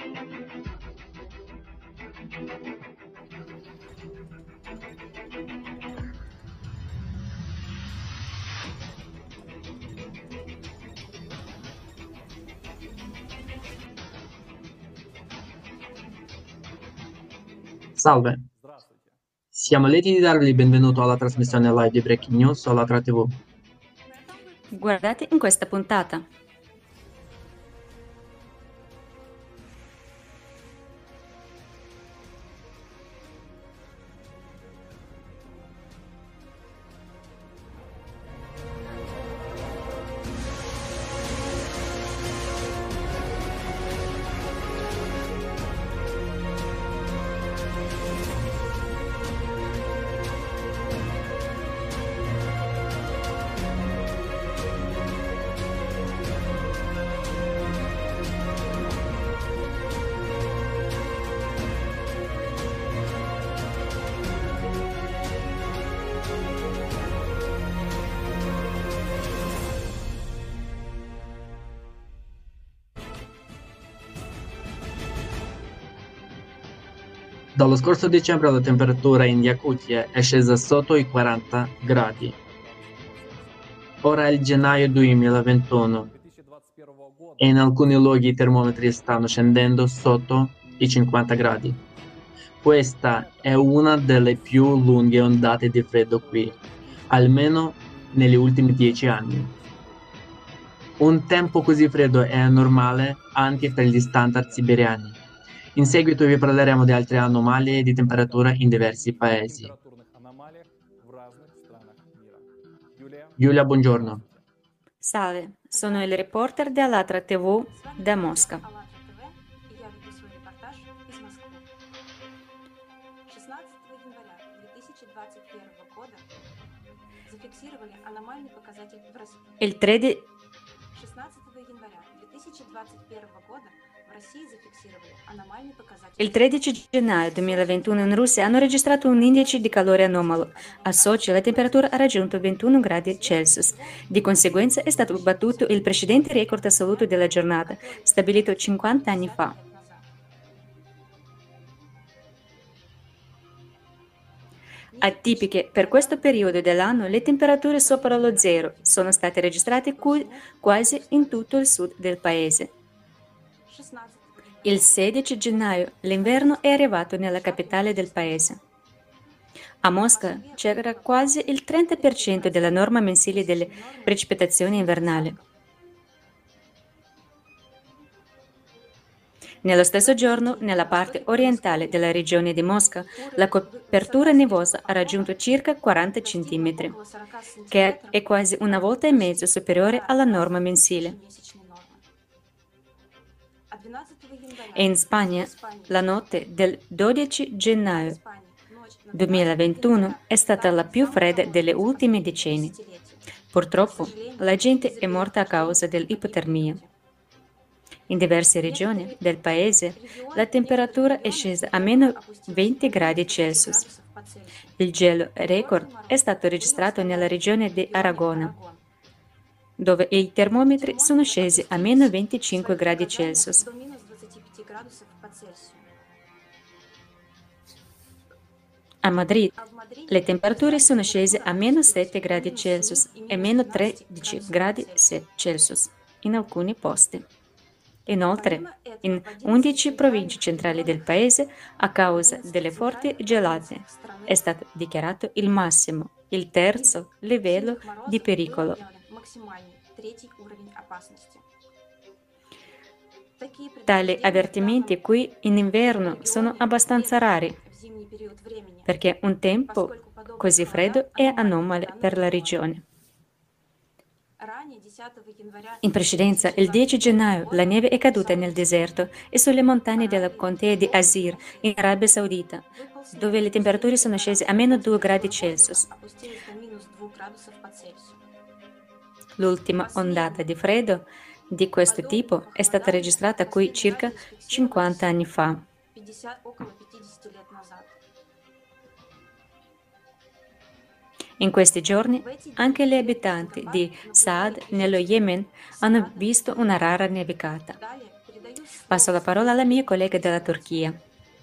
Salve, siamo lieti di darvi il benvenuto alla trasmissione live di Breaking News sulla Tra TV. Guardate in questa puntata. Dallo scorso dicembre la temperatura in Yakutia è scesa sotto i 40 gradi. Ora è il gennaio 2021 e in alcuni luoghi i termometri stanno scendendo sotto i 50 gradi. Questa è una delle più lunghe ondate di freddo qui, almeno negli ultimi 10 anni. Un tempo così freddo è anormale anche per gli standard siberiani. In seguito vi parleremo di altre anomalie di temperatura in diversi paesi. Giulia, buongiorno. Salve, sono il reporter dell'Alatra TV da Mosca. Il 13 Il 13 gennaio 2021 in Russia hanno registrato un indice di calore anomalo. A Sochi la temperatura ha raggiunto 21 gradi Celsius. Di conseguenza è stato battuto il precedente record assoluto della giornata, stabilito 50 anni fa. Atipiche per questo periodo dell'anno, le temperature sopra lo zero sono state registrate quasi in tutto il sud del paese. Il 16 gennaio l'inverno è arrivato nella capitale del paese. A Mosca c'era quasi il 30% della norma mensile delle precipitazioni invernali. Nello stesso giorno, nella parte orientale della regione di Mosca, la copertura nevosa ha raggiunto circa 40 cm, che è quasi una volta e mezzo superiore alla norma mensile. E in Spagna, la notte del 12 gennaio 2021 è stata la più fredda delle ultime decenni. Purtroppo, la gente è morta a causa dell'ipotermia. In diverse regioni del paese, la temperatura è scesa a meno 20 gradi Celsius. Il gelo record è stato registrato nella regione di Aragona, dove i termometri sono scesi a meno 25 gradi Celsius. A Madrid le temperature sono scese a meno 7 gradi Celsius e meno 13 gradi Celsius in alcuni posti. Inoltre, in 11 province centrali del paese, a causa delle forti gelate, è stato dichiarato il massimo, il terzo livello di pericolo. Tali avvertimenti qui in inverno sono abbastanza rari, perché un tempo così freddo è anomalo per la regione. In precedenza, il 10 gennaio, la neve è caduta nel deserto e sulle montagne della contea di Azir, in Arabia Saudita, dove le temperature sono scese a meno 2 gradi Celsius. L'ultima ondata di freddo di questo tipo è stata registrata qui circa 50 anni fa. In questi giorni anche gli abitanti di Saad, nello Yemen, hanno visto una rara nevicata. Passo la parola alla mia collega della Turchia.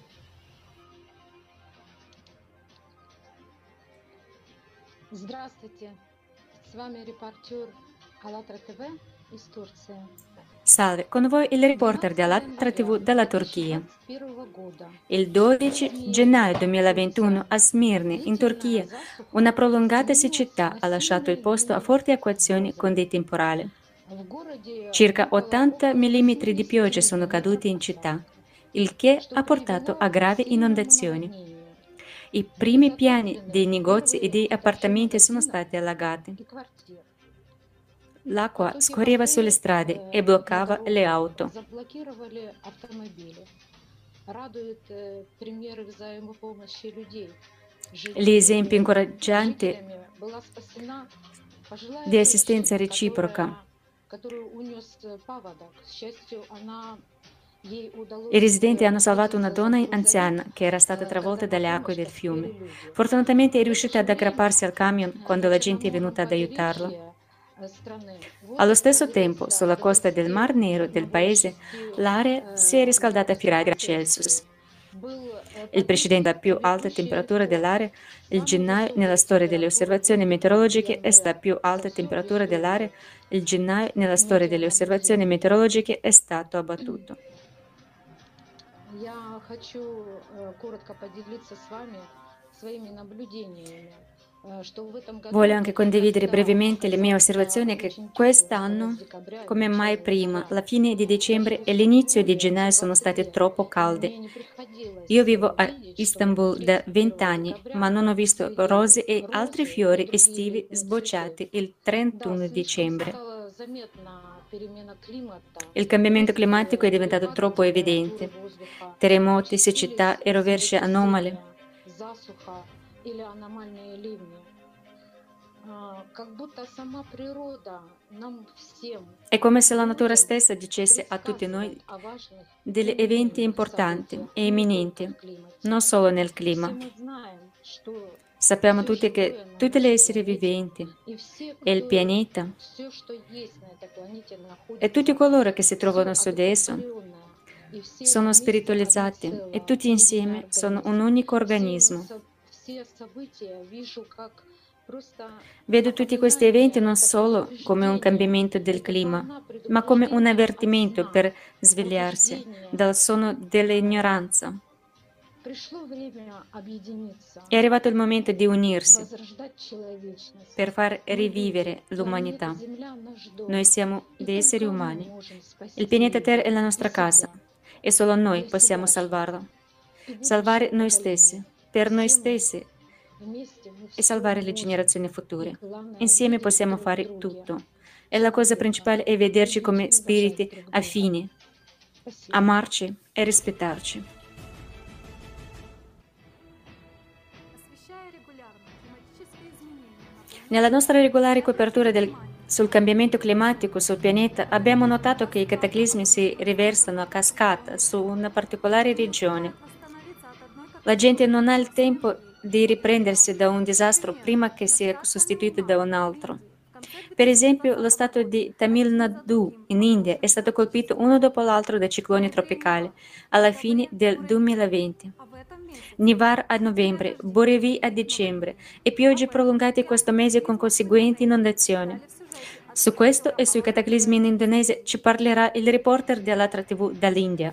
Здравствуйте, с вами репортер АЛЛАТРА ТВ из Турции. Salve, con voi il reporter di 12 Alatra TV января dalla Turchia. 2021 года Il 12 gennaio 2021 a Smirne, in Turchia, una prolungata siccità ha lasciato il posto a forti acquazzoni con dei temporali. в городе Circa выпало 80 около mm di 70 pioggia sono caduti in миллиметров città, осадков, il che что ha portato a привело к gravi сильному inondazioni. наводнению. I Были primi piani dei затоплены negozi e первые dei этажи appartamenti sono магазинов stati allagati. и квартир. L'acqua Потоки scorreva sulle воды strade e на bloccava le дорогах auto. заблокировали автомобили. Радует примеры взаимопомощи людей. Gli esempi incoraggianti Жителями была спасена пожилая di assistenza женщина, reciproca. которую унес паводок. К счастью, ей I удалось residenti hanno salvato una ухватиться за donna грузовик, anziana che era stata travolta когда dalle на acque помощь del поспели fiume. люди. Fortunatamente è В это riuscita же ad aggrapparsi al время camion quando la на gente è venuta черноморском ad aiutarla. побережье страны Allo воздух stesso tempo, прогрелся sulla до costa del Mar Nero 20 del paese, l'area si è riscaldata a più gradi Celsius. Был Il precedente la побит più alta ведущий temperatura рекорд. dell'area, il Самая gennaio nella высокая storia delle температура osservazioni воздуха в meteorologiche è stata январе più за alta всю temperatura dell'area, историю il gennaio nella storia delle osservazioni метеонаблюдений. meteorologiche è stato abbattuto. Я хочу коротко поделиться с вами своими наблюдениями, что в этом Voglio году anche condividere как-то brevemente le mie оказался osservazioni che очень теплым. Конец quest'anno, декабря и come mai начало prima, января. la fine di Даже dicembre в e l'inizio di Стамбуле gennaio уже sono 20 stati лет, troppo и caldi. мне не Io приходилось vivo a видеть, чтобы Istanbul da 20 31 anni, ma декабря non ho visto цвели rose e altri розы и fiori другие estivi виды цветов. sbocciati il Да, 31 слишком dicembre. стала заметна перемена климата. Il cambiamento Резкие climatico è diventato перепады troppo температуры evidente. воздуха, Terremoti, участились siccità e rovesce anomali. землетрясения, засуха или аномальные ливни. Как будто сама природа нам всем, È come se la natura людям, stessa dicesse a tutti noi предсказывает о важных degli eventi переменных importanti событиях e не только imminenti, в климате. non solo nel И все clima. мы знаем, что Sappiamo все tutti che живое на tutti gli нашей esseri планете viventi и все, e il pianeta все, что есть на этой планете, e tutti находится coloro che si все trovano su di esso одухотворенное. И все sono вместе одно spiritualizzati e целое, tutti единый insieme sono un организм. unico organismo. Все события вижу как просто Vedo tutti questi eventi напоминание, non это solo come un предупреждение, cambiamento del это clima, волна ma come un предупреждения от avvertimento сна, per svegliarsi пробуждение. dal sonno dell'ignoranza. Пришло время объединиться, È arrivato il momento di unirsi возрождать человечность. per far Мы rivivere люди, l'umanità. планета Земля наш дом. Noi siamo И dei esseri только мы umani. можем спасти Il pianeta Terra мир è la и nostra casa себя, e solo noi для possiamo себя же salvarlo. и Salvare будущего noi поколения. stessi, per noi Все мы stessi вместе, мы e все salvare le можем. generazioni И future. главное Insieme видеть possiamo друг в fare друге tutto. E la cosa человека, principale è vederci любить come и уважать spiriti друг друга. affini, Спасибо. amarci e rispettarci. Nella nostra regolare copertura sul cambiamento climatico sul pianeta abbiamo notato che i cataclismi si riversano a cascata su una particolare regione. La gente non ha il tempo di riprendersi da un disastro prima che sia sostituito da un altro. Per esempio, lo stato di Tamil Nadu in India è stato colpito uno dopo l'altro da cicloni tropicali alla fine del 2020. Nivar a novembre, Borevi a dicembre e piogge prolungate questo mese con conseguenti inondazioni. Su questo e sui cataclismi in Indonesia ci parlerà il reporter di Alatra TV dall'India.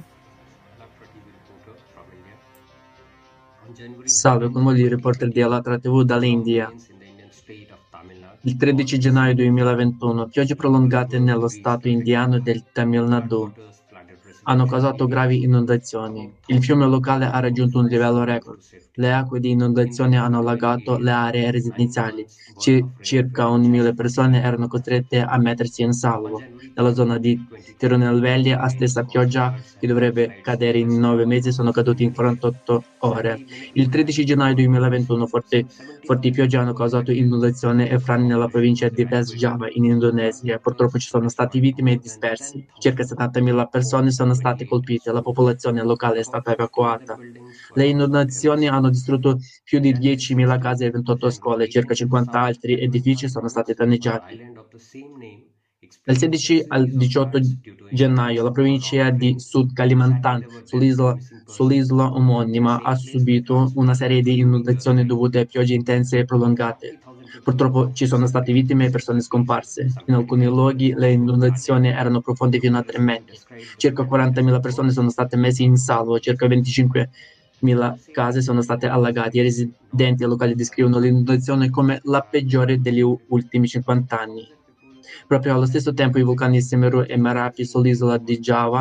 Salve, con voi il reporter di Alatra TV dall'India. Il 13 gennaio 2021, piogge prolungate nello stato indiano del Tamil Nadu hanno causato gravi inondazioni. Il fiume locale ha raggiunto un livello record. Le acque di inondazione hanno allagato le aree residenziali. Circa 1.000 persone erano costrette a mettersi in salvo. Nella zona di Tirunelveli, la stessa pioggia che dovrebbe cadere in 9 mesi sono caduti in 48 ore. Il 13 gennaio 2021 forti piogge hanno causato inondazioni e frane nella provincia di West Java in Indonesia. Purtroppo ci sono stati vittime e dispersi. Circa 70.000 persone sono state colpite, la popolazione locale è stata evacuata. Le inondazioni hanno distrutto più di 10.000 case e 28 scuole, circa 50 altri edifici sono stati danneggiati. Dal 16 al 18 gennaio la provincia di Sud Kalimantan, sull'isola omonima, ha subito una serie di inondazioni dovute a piogge intense e prolungate. Purtroppo ci sono state vittime e persone scomparse. In alcuni luoghi le inondazioni erano profonde fino a 3 metri. Circa 40.000 persone sono state messe in salvo, circa 25.000 case sono state allagate. I residenti locali descrivono l'inondazione come la peggiore degli ultimi 50 anni. Proprio allo stesso tempo i vulcani Semeru e Merapi sull'isola di Java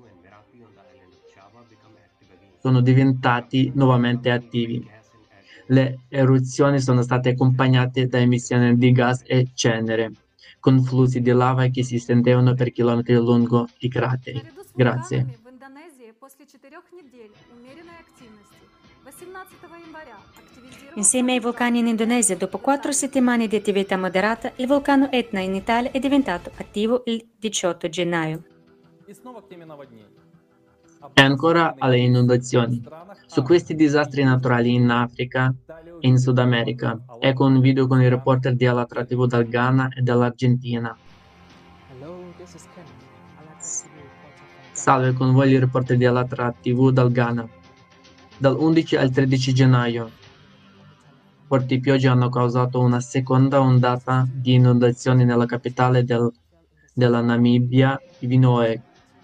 sono diventati nuovamente attivi. Le eruzioni sono state accompagnate da emissioni di gas e cenere, con flussi di lava che si estendevano per chilometri lungo i crateri. Grazie. Insieme ai vulcani in Indonesia, dopo 4 settimane di attività moderata, il vulcano Etna in Italia è diventato attivo il 18 gennaio. E ancora alle inondazioni. Su questi disastri naturali in Africa e in Sud America. Ecco un video con i reporter di Alatra TV dal Ghana e dall'Argentina. Salve, con voi il reporter di Alatra TV dal Ghana. Dal 11 al 13 gennaio. Forti piogge hanno causato una seconda ondata di inondazioni nella capitale della Namibia, Windhoek.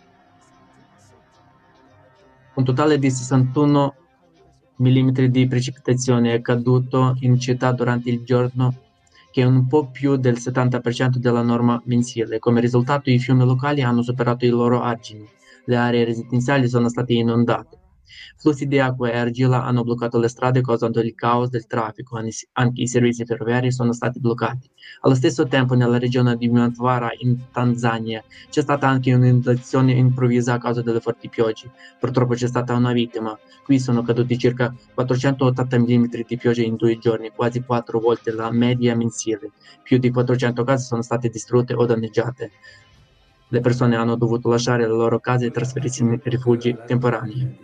Un totale di 61 mm di precipitazione è caduto in città durante il giorno, che è un po' più del 70% della norma mensile. Come risultato, i fiumi locali hanno superato i loro argini. Le aree residenziali sono state inondate. Flussi di acqua e argilla hanno bloccato le strade causando il caos del traffico. Anche i servizi ferroviari sono stati bloccati. Allo stesso tempo, nella regione di Mtwara, in Tanzania, c'è stata anche un'inondazione improvvisa a causa delle forti piogge. Purtroppo c'è stata una vittima. Qui sono caduti circa 480 mm di pioggia in 2 giorni, quasi 4 volte la media mensile. Più di 400 case sono state distrutte o danneggiate. Le persone hanno dovuto lasciare le loro case e trasferirsi in rifugi temporanei.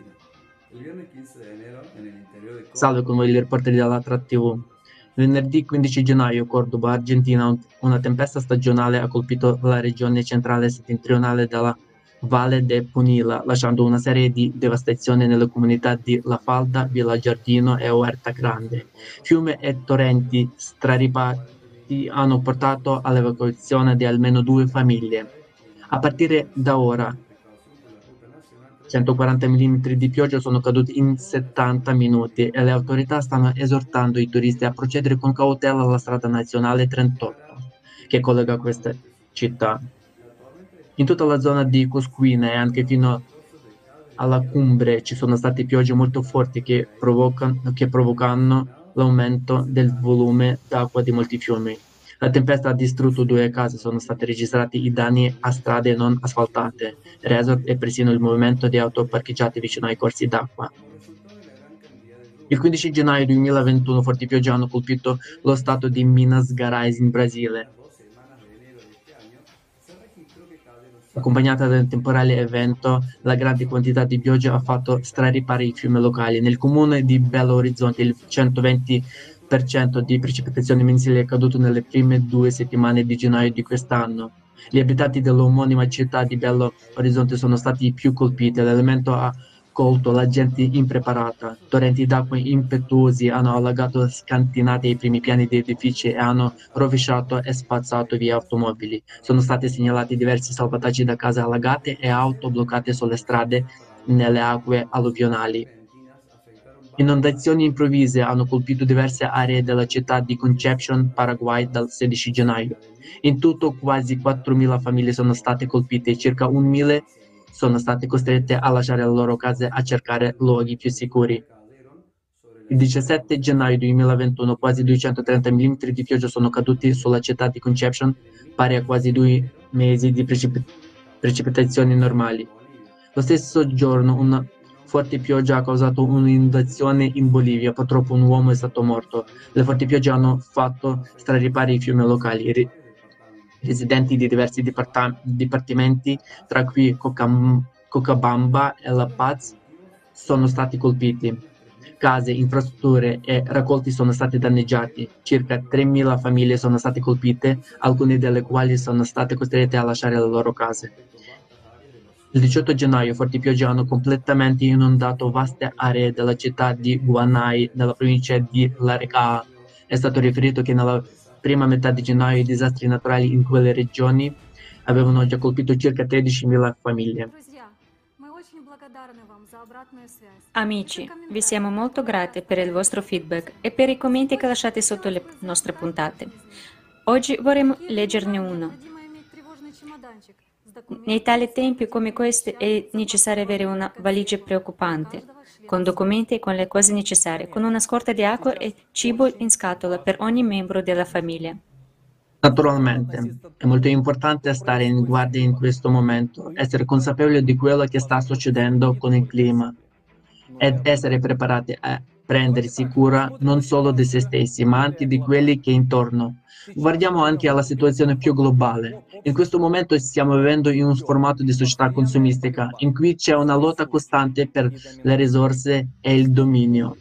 Salve, con voi il reporter dell'Alatra TV. Venerdì 15 gennaio, Cordoba, Argentina, una tempesta stagionale ha colpito la regione centrale settentrionale della Valle de Punilla, lasciando una serie di devastazioni nelle comunità di La Falda, Villa Giardino e Huerta Grande. Fiumi e torrenti straripati hanno portato all'evacuazione di almeno 2 famiglie. A partire da ora, 140 mm di pioggia sono caduti in 70 minuti e le autorità stanno esortando i turisti a procedere con cautela alla strada nazionale 38, che collega queste città. In tutta la zona di Cosquina e anche fino alla Cumbre ci sono state piogge molto forti che provocano l'aumento del volume d'acqua di molti fiumi. La tempesta ha distrutto 2 case, sono stati registrati i danni a strade non asfaltate, resort e persino il movimento di auto parcheggiate vicino ai corsi d'acqua. Il 15 gennaio 2021 forti piogge hanno colpito lo stato di Minas Gerais in Brasile. Accompagnata da un temporale evento, la grande quantità di pioggia ha fatto straripare i fiumi locali. Nel comune di Belo Horizonte il 120% di precipitazioni mensili è caduto nelle prime 2 settimane di gennaio di quest'anno. Gli abitanti dell'omonima città di Belo Horizonte sono stati i più colpiti. L'elemento ha colto la gente impreparata. Torrenti d'acqua impetuosi hanno allagato scantinati i primi piani di edifici e hanno rovesciato e spazzato via automobili. Sono stati segnalati diversi salvataggi da case allagate e auto bloccate sulle strade nelle acque alluvionali. Inondazioni improvvise hanno colpito diverse aree della città di Concepción, Paraguay, dal 16 gennaio. In tutto quasi 4.000 famiglie sono state colpite e circa 1.000 sono state costrette a lasciare le loro case a cercare luoghi più sicuri. Il 17 gennaio 2021 quasi 230 mm di pioggia sono caduti sulla città di Concepción, pari a quasi 2 mesi di precipitazioni normali. Lo stesso giorno una forte pioggia ha causato un'inondazione in Bolivia, purtroppo un uomo è stato morto. Le forti piogge hanno fatto straripare i fiumi locali. Residenti di diversi dipartimenti, tra cui Cochabamba e La Paz, sono stati colpiti. Case, infrastrutture e raccolti sono stati danneggiati. Circa 3.000 famiglie sono state colpite, alcune delle quali sono state costrette a lasciare le loro case. Il 18 gennaio forti piogge hanno completamente inondato vaste aree della città di Guanay, nella provincia di Laricaa. È stato riferito che nella prima metà di gennaio i disastri naturali in quelle regioni avevano già colpito circa 13.000 famiglie. Amici, vi siamo molto grati per il vostro feedback e per i commenti che lasciate sotto le nostre puntate. Oggi vorremmo leggerne uno. Nei tali tempi come questi è necessario avere una valigia preoccupante, con documenti e con le cose necessarie, con una scorta di acqua e cibo in scatola per ogni membro della famiglia. Naturalmente, è molto importante stare in guardia in questo momento, essere consapevoli di quello che sta succedendo con il clima ed essere preparati a prendersi cura non solo di se stessi, ma anche di quelli che intorno. Guardiamo anche alla situazione più globale. In questo momento stiamo vivendo in un formato di società consumistica, in cui c'è una lotta costante per le risorse e il dominio.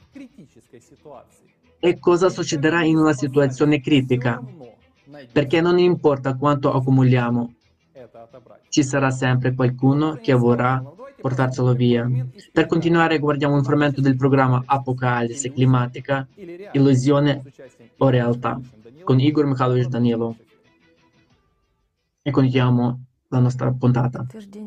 E cosa succederà in una situazione critica? Perché non importa quanto accumuliamo, ci sarà sempre qualcuno che vorrà portarselo via. Per continuare, guardiamo un frammento del programma Apocalisse climatica, illusione o realtà, con Igor Mikhailovich Danilov. E continuiamo la nostra puntata.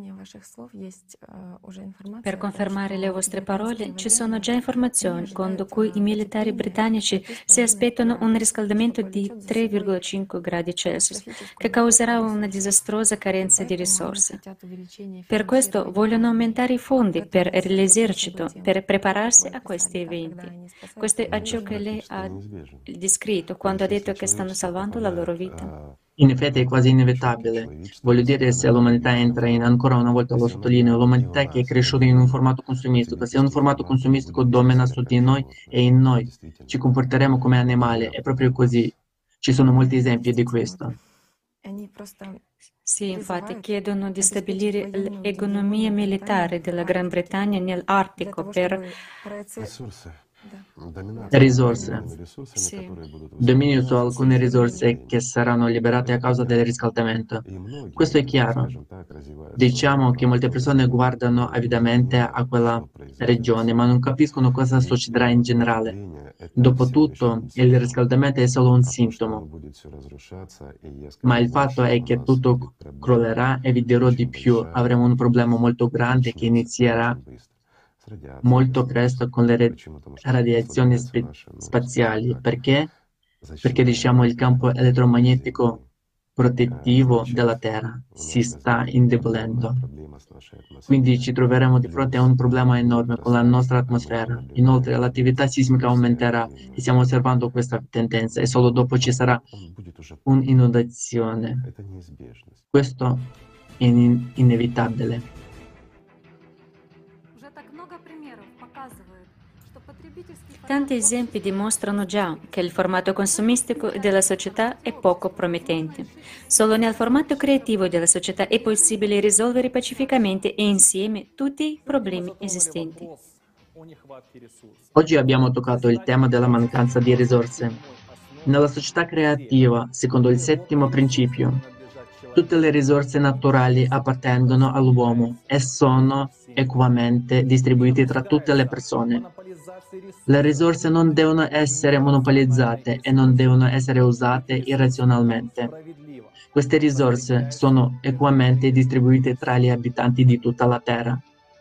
Per confermare le vostre parole, ci sono già informazioni secondo cui i militari britannici si aspettano un riscaldamento di 3,5 gradi Celsius, che causerà una disastrosa carenza di risorse. Per questo vogliono aumentare i fondi per l'esercito, per prepararsi a questi eventi. Questo è ciò che lei ha descritto quando ha detto che stanno salvando la loro vita. In effetti è quasi inevitabile. Voglio dire, se l'umanità entra in, ancora una volta lo sottolineo, l'umanità che è cresciuta in un formato consumistico, se un formato consumistico domina su di noi e in noi, ci comporteremo come animali, è proprio così. Ci sono molti esempi di questo. Sì, infatti chiedono di stabilire l'economia militare della Gran Bretagna nell'Artico per Risorse. Sì. Dominio su alcune risorse che saranno liberate a causa del riscaldamento. Questo è chiaro. Diciamo che molte persone guardano avidamente a quella regione, ma non capiscono cosa succederà in generale. Dopotutto, il riscaldamento è solo un sintomo, ma il fatto è che tutto crollerà e vi dirò di più. Avremo un problema molto grande che inizierà molto presto con le radiazioni spaziali. Perché? Perché diciamo il campo elettromagnetico protettivo della Terra si sta indebolendo. Quindi ci troveremo di fronte a un problema enorme con la nostra atmosfera. Inoltre l'attività sismica aumenterà e stiamo osservando questa tendenza e solo dopo ci sarà un'inondazione. Questo è inevitabile. Tanti esempi dimostrano già che il formato consumistico della società è poco promettente. Solo nel formato creativo della società è possibile risolvere pacificamente e insieme tutti i problemi esistenti. Oggi abbiamo toccato il tema della mancanza di risorse. Nella società creativa, secondo il settimo principio, tutte le risorse naturali appartengono all'uomo e sono equamente distribuite tra tutte le persone. Le risorse non devono essere monopolizzate e non devono essere usate irrazionalmente. Queste risorse sono equamente distribuite tra gli abitanti di tutta la Terra.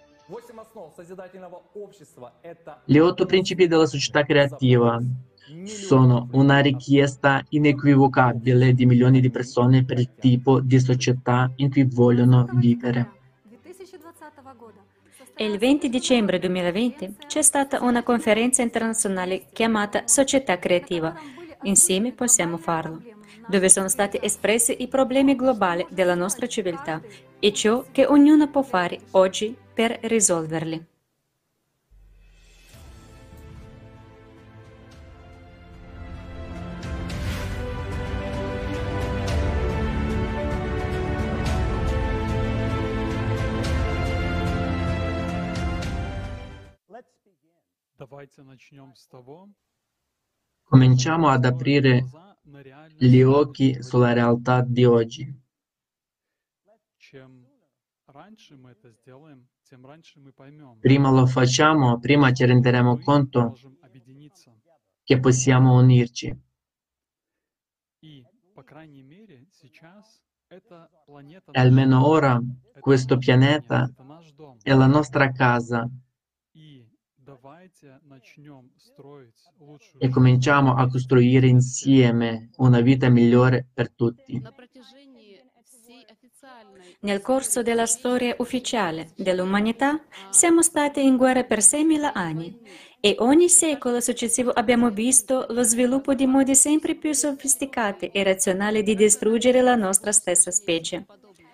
Gli 8 principi della società creativa sono una richiesta inequivocabile di milioni di persone per il tipo di società in cui vogliono vivere. E il 20 dicembre 2020 c'è stata una conferenza internazionale chiamata Società Creativa. Insieme possiamo farlo, dove sono stati espressi i problemi globali della nostra civiltà e ciò che ognuno può fare oggi per risolverli. Давайте начнем с того, Cominciamo ad aprire gli occhi sulla realtà di oggi. чем раньше мы это сделаем, тем раньше мы поймем, Prima lo facciamo, prima ci renderemo мы conto можем объединиться. che possiamo unirci. И, по крайней мере, сейчас эта планета E almeno наш ora дом. Это questo наша планета, pianeta это наш дом. è la nostra casa И давайте начнем строить лучшую e жизнь cominciamo a вместе costruire для всех. insieme una vita migliore per tutti. Nel corso della storia ufficiale dell'umanità siamo stati in guerra per 6.000 anni e ogni secolo successivo abbiamo visto lo sviluppo di modi sempre più sofisticati e razionali di distruggere la nostra stessa specie.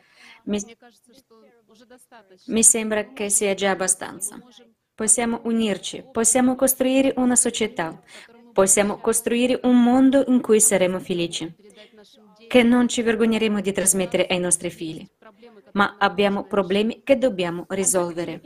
Mi sembra che sia già abbastanza. Possiamo unirci, possiamo costruire una società, possiamo costruire un mondo in cui saremo felici, che non ci vergogneremo di trasmettere ai nostri figli. Ma abbiamo problemi che dobbiamo risolvere.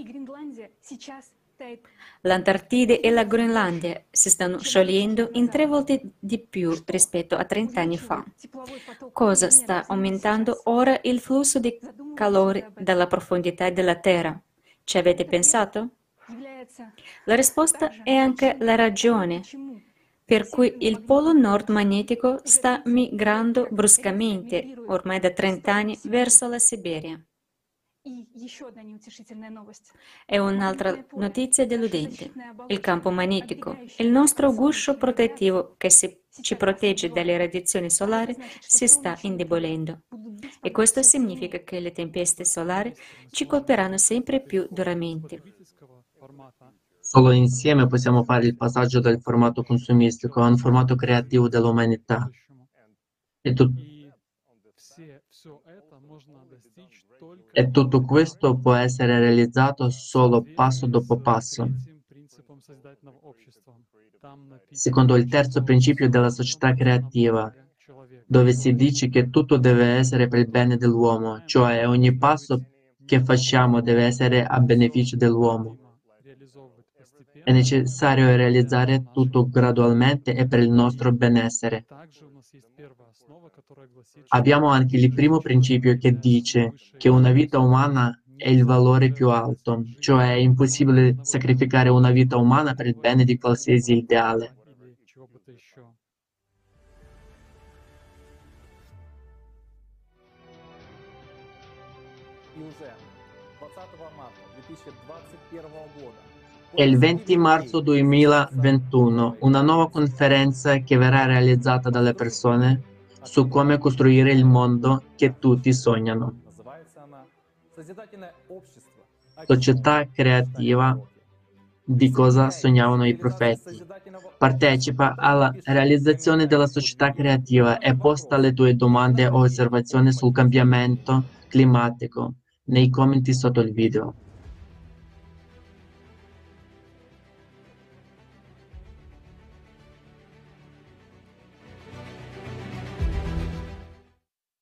L'Antartide e la Groenlandia si stanno sciogliendo in 3 volte di più rispetto a 30 anni fa. Cosa sta aumentando ora il flusso di calore dalla profondità della Terra? Ci avete pensato? La risposta è anche la ragione per cui il polo nord magnetico sta migrando bruscamente, ormai da 30 anni, verso la Siberia. È un'altra notizia deludente. Il campo magnetico, il nostro guscio protettivo che ci protegge dalle radiazioni solari, si sta indebolendo. E questo significa che le tempeste solari ci colpiranno sempre più duramente. Потребительского формата Solo insieme possiamo fare il passaggio dal formato consumistico a un formato creativo dell'umanità. будущему. E, tu- И все это можно достичь только e tutto questo può essere realizzato в solo passo соответствии dopo с passo, третьим принципом созидательного общества. Там написано, secondo il terzo что principio всё della должно società быть на creativa, благо человека. dove si dice che tutto deve essere per il bene dell'uomo, cioè ogni passo che facciamo deve essere a beneficio dell'uomo. Необходимо реализовывать È постепенно necessario для realizzare нашего tutto gradualmente e per il nostro benessere. Также у нас есть первая основа, которая гласит, Abbiamo что anche il жизнь primo principio che человека dice есть che высшая una vita ценность. umana è il valore più alto, cioè è impossibile sacrificare una vita umana per il bene di qualsiasi ideale. Или чего-то еще. И уже 20 марта 2021 года È il 20 marzo 2021, una nuova conferenza che verrà realizzata dalle persone su come costruire il mondo che tutti sognano. Называется она «Созидательное общество. Società creativa di cosa sognavano i profeti. Partecipa alla realizzazione della società creativa e posta le tue domande o osservazioni sul cambiamento climatico nei commenti sotto il video.